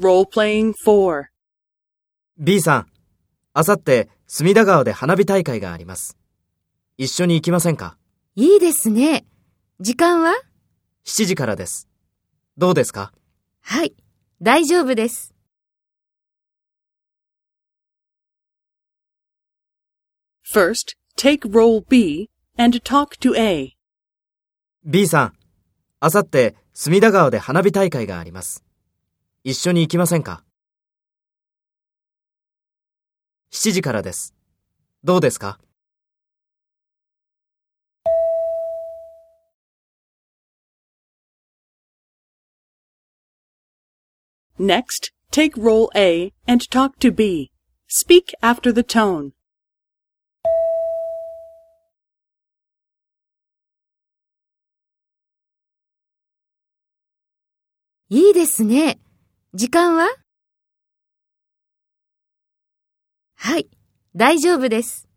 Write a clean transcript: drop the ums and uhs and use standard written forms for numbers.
Role-playing 4. B さん、あさって隅田川で花火大会があります。一緒に行きませんか？ いいですね。時間は？ 7時からです。どうですか？ はい、大丈夫です。 First, take role B and talk to A. B さん、あさって隅田川で花火大会があります。一緒に行きませんか？7時からです。どうですか？ Next, take role A and talk to B. Speak after the tone. いいですね。時間は？はい、大丈夫です。